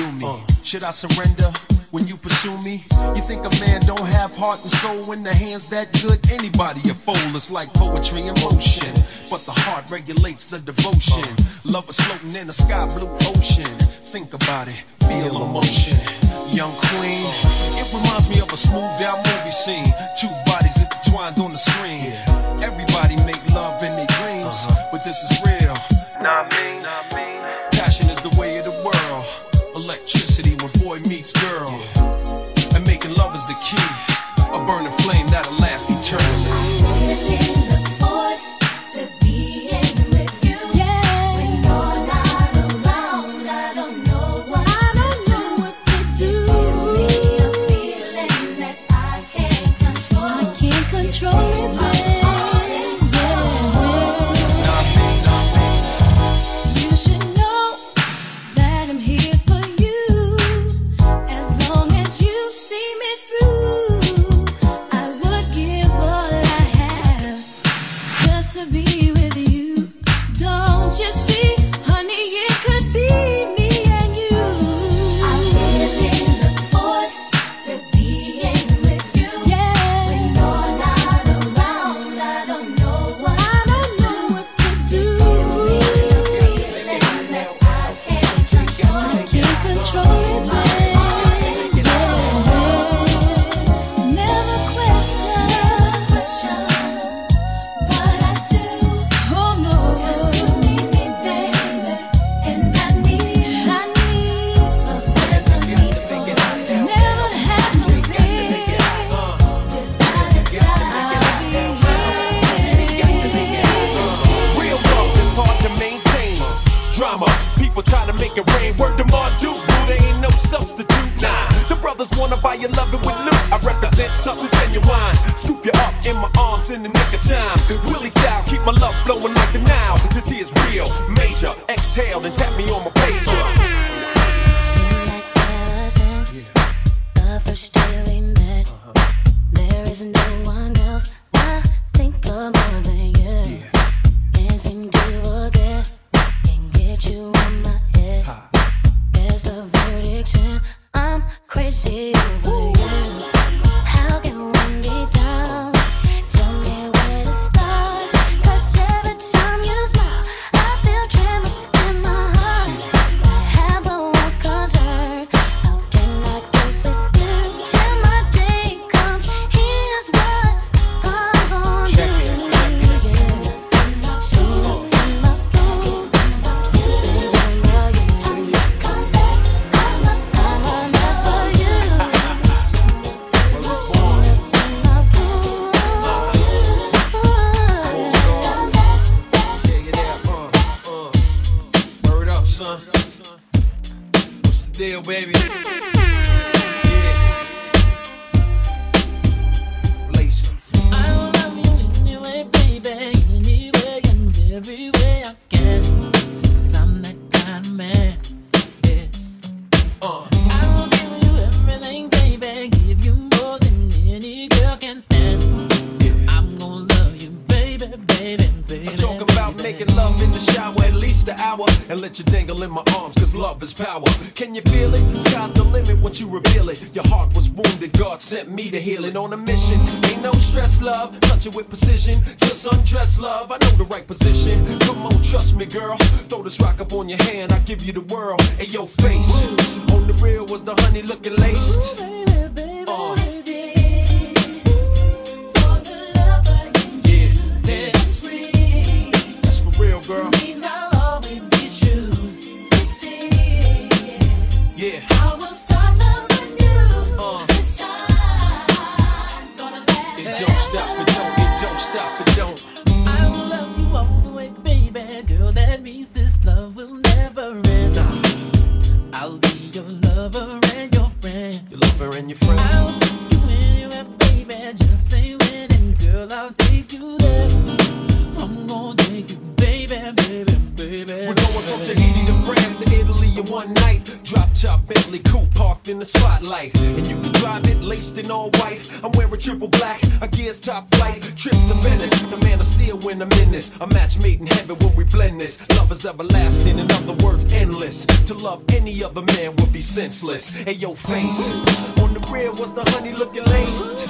do me? Should I surrender when you pursue me? You think a man don't have heart and soul in the hands that good? Anybody a fool, it's like poetry in motion. But the heart regulates the devotion. Love is floating in a sky blue ocean. Think about it, feel emotion. Young queen, it reminds me of a smoothed out movie scene. Two bodies intertwined on the screen. Everybody make love in their dreams, but this is real. Nah, I mean, passion is the way of the world. Electricity when boy meets girl. And making love is the key. A burning flame that'll last eternally. On a mission, ain't no stress, love. Touch it with precision, just undress, love. I know the right position. Come on, trust me, girl. Throw this rock up on your hand, I'll give you the world. Hey, your face on the real was the honey looking laced. This is for the lover in you. That's real. That's for real, girl. Means I'll always be true. This is how we'll start loving you. This time. Stop it, don't. I will love you all the way, baby. Girl, that means this love will never end. I'll be your lover and your friend. Your lover and your friend. I'll take you anywhere, baby. Just say when, and girl, I'll take you there. I'm gonna take you, baby, baby, baby. We're going from Tahiti to France to Italy in one night. Drop shop Bentley coupe parked in the spotlight. And you can drive it laced in all white. I'm wearing triple black, a gear's top flight. Trips to Venice, the man of steel when I'm in this. A match made in heaven when we blend this. Love is everlasting, in other words, endless. To love any other man would be senseless. Hey, yo, face. On the rear was the honey looking laced.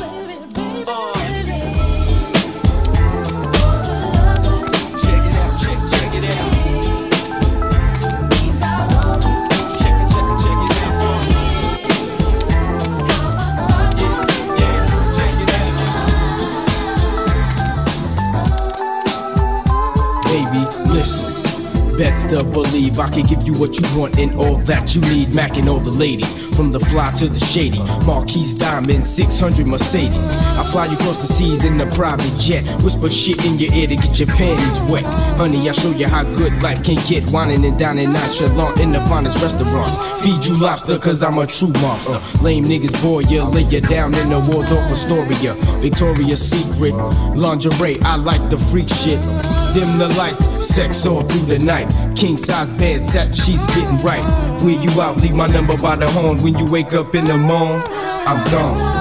Best to believe I can give you what you want and all that you need. Mac and all the ladies, from the fly to the shady. Marquise Diamond, 600 Mercedes. I fly you across the seas in a private jet. Whisper shit in your ear to get your panties wet. Honey, I show you how good life can get. Whining and dining nonchalant in the finest restaurants. Feed you lobster cause I'm a true monster. Lame niggas bore ya, lay ya down in the Waldorf Astoria. Victoria's Secret, lingerie, I like the freak shit. Dim the lights, sex all through the night. King size bed, satin sheets getting right. Where you out, leave my number by the horn. When you wake up in the morning, I'm gone.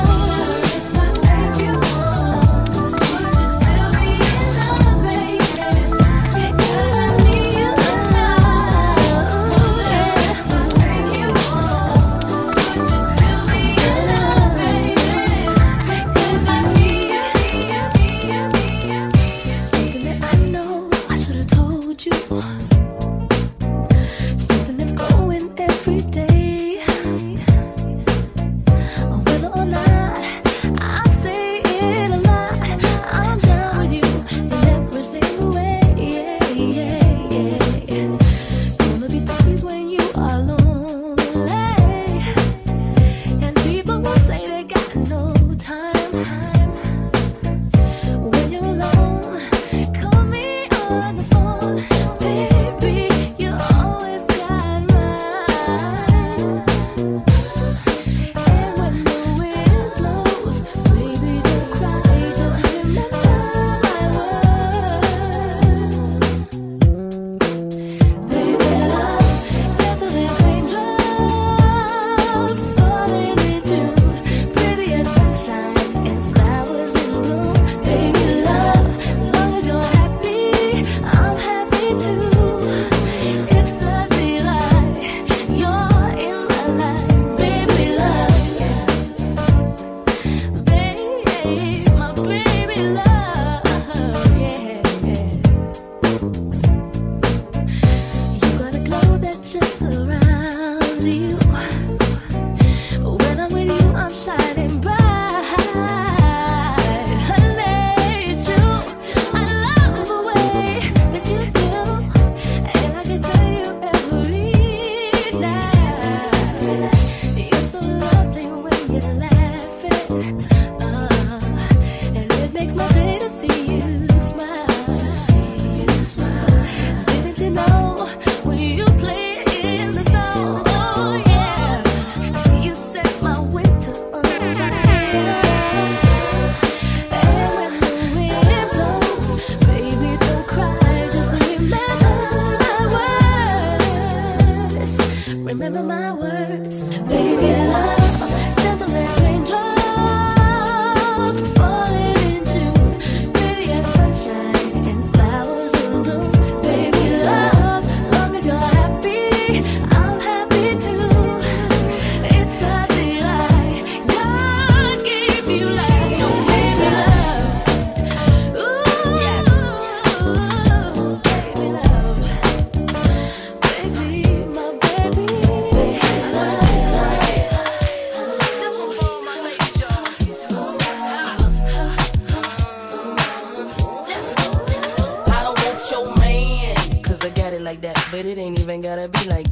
but it ain't even gotta be like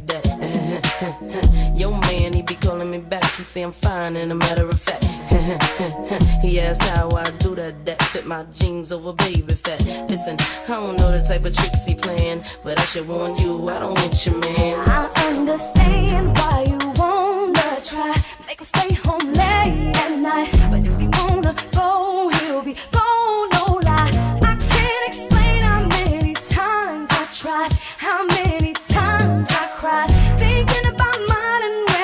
that. Yo man, he be calling me back, he say I'm fine, and a matter of fact, he asks how I do that fit my jeans over baby fat. Listen, I don't know the type of tricks he playing, but I should warn you, I don't want your man. I understand why you wanna try, make him stay home late at night, but if he wanna go, he'll be gone, no lie. I can't explain how many times I tried, how many times I cried, thinking about mine and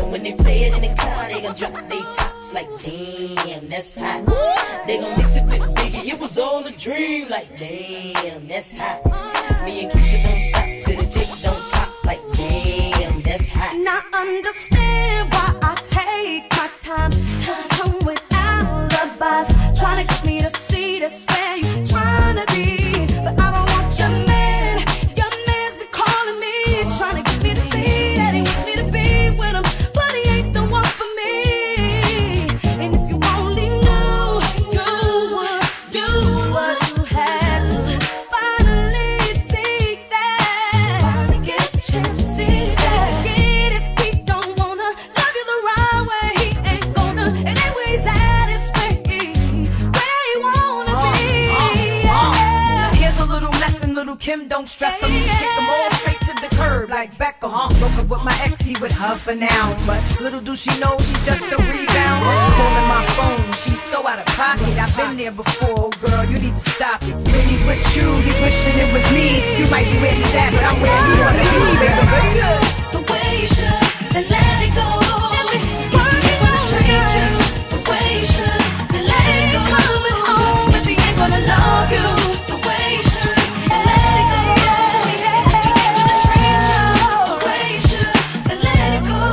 And when they play it in the car, they gon' drop they tops like damn, that's hot. They gon' mix it with Biggie, it was all a dream. Like damn, that's hot. Me and Keisha don't stop till the tick don't top. Like damn, that's hot. Now understand why I take my time. Cause you come with alibis, trying to get me to see that's where you trying to be. But I don't want your man. Your man's been calling me, trying to get me to see that he wants me to be with him, but he ain't the one for me. And if you only knew, you would do what you had to. Finally see that. Finally get the chance to see that. Forget if he don't wanna love you the right way, he ain't gonna. And anyway, he's at his way, where he wanna be. Now here's a little lesson, little Kim, don't stress him. Kick them all straight to the curb like Beckham. Broke up with my ex, he with her for now. But little do she know she's just a rebound. Calling my phone, she's so out of pocket. I've been there before, girl, you need to stop it. When he's with you, he's wishing it was me. You might be where he's at, but I'm where he wanna be, baby. The way you should, then let it go. If he ain't gonna treat you the way you should, then let it go. Coming home if he ain't gonna love you the way you should, then let it go. If he ain't gonna treat you the way you should, then let it go.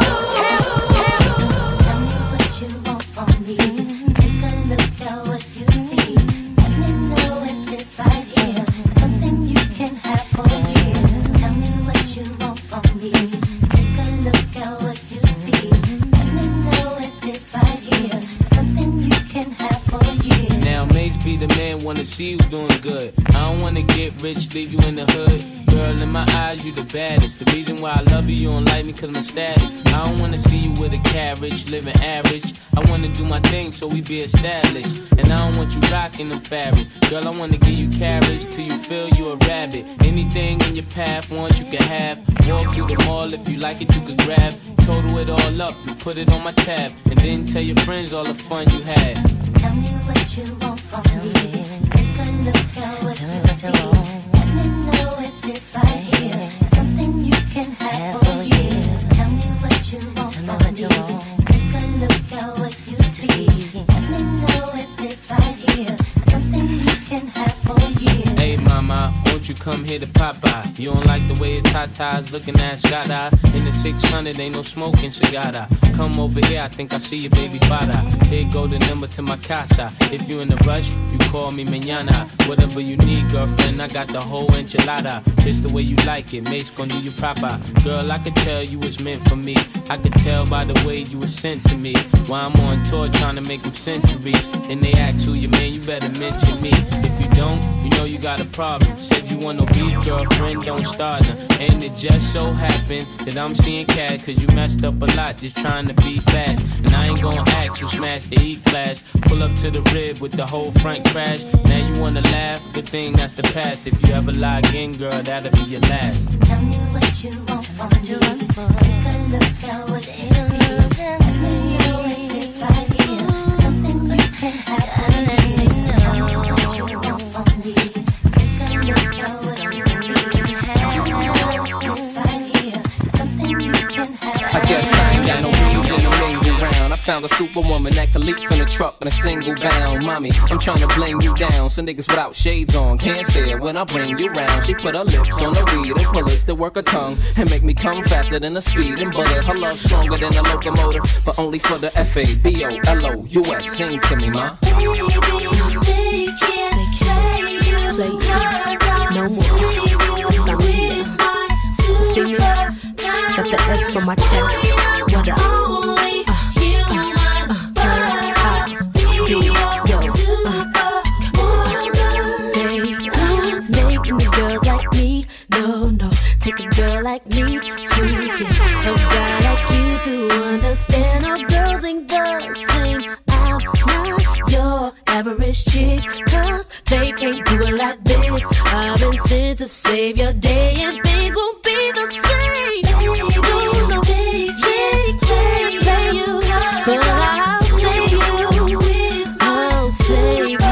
Tell me what you want from me. Take a look at what you see. Let me know if it's right here. Something you can have for years. Tell me what you want from me. Take a look at what you see. Let me know if it's right here. Something you can have for years. Now Mace be the man, wanna see you doing good. I don't wanna get rich, leave you in the hood. Girl, in my eyes, you the baddest. The reason why I love you, you don't like me cause I'm static. I don't wanna see you with a carriage, living average. I wanna do my thing so we be established. And I don't want you rocking them fabrics. Girl, I wanna give you carriage till you feel you a rabbit. Anything in your path, once you can have. Walk through the mall, if you like it, you could grab. Total it all up, you put it on my tab. And then tell your friends all the fun you had. Tell me what you want from me. Take a look at what you see. Let me know if it's right here. Something you can have for years. Tell me what you want from me. Take a look at what you see. Let me know if it's right here. Something you can have for years. Hey mama, won't you come here to Popeye? You don't like the way the tatas looking at Scott. In the 600, ain't no smoking cigar. Come over here, I think I see your baby father. Here go the number to my casa. If you in a rush, you call me mañana. Whatever you need, girlfriend, I got the whole enchilada. Just the way you like it, Mace gon' do you proper. Girl, I could tell you was meant for me. I could tell by the way you were sent to me. While I'm on tour trying to make them centuries. And they ask who you man, you better mention me. If you don't, you know you got a problem. Said you want no beef, girlfriend, don't start now. And it just so happened that I'm seeing cat, cause you messed up a lot just trying to be fast. And I ain't gon' ask you smash the E-class. Pull up to the rib with the whole front crash. Now you wanna laugh, good thing that's the past. If you ever lie again, girl, that'll be your last. Tell me what you want from me. Take a look at what you see. Let me know if it's right here. Something you can have for me. Tell me what you want from me. Take a look at what you see. Let me know if it's right here. Something you can have for me. I guess I ain't got no reason to mingle around. I found a superwoman that could leap from the truck in a single bound. Mommy, I'm trying to blame you down. Some niggas without shades on can't stare when I bring you round. She put her lips on the weed and pull us to work her tongue and make me come faster than the speed and butter. Her love stronger than a locomotive, but only for the FABOLOUS. Sing to me, ma. Baby, they can't play you no more. See me? Got the F on my chest. What up? Making the girls like me, no. Take a girl like me to get a guy like you to understand. All girls ain't the same. I'm not your average chick, cause they can't do it like this. I've been sent to save your day, and things won't be the same. No, they can't play you, cause I'll save you. I'll save you.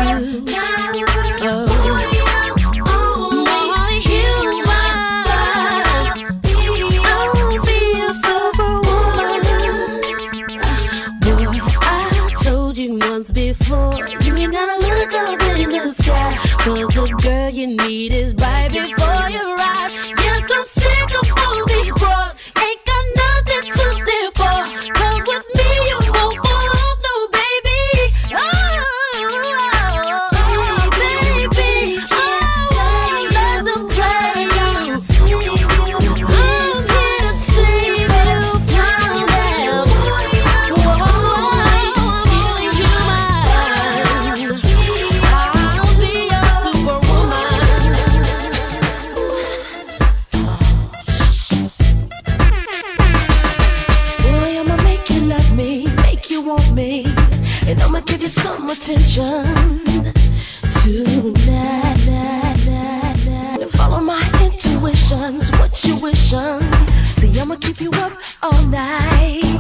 I'ma give you some attention tonight. Follow my intuitions, what you wishin'. See, I'ma keep you up all night.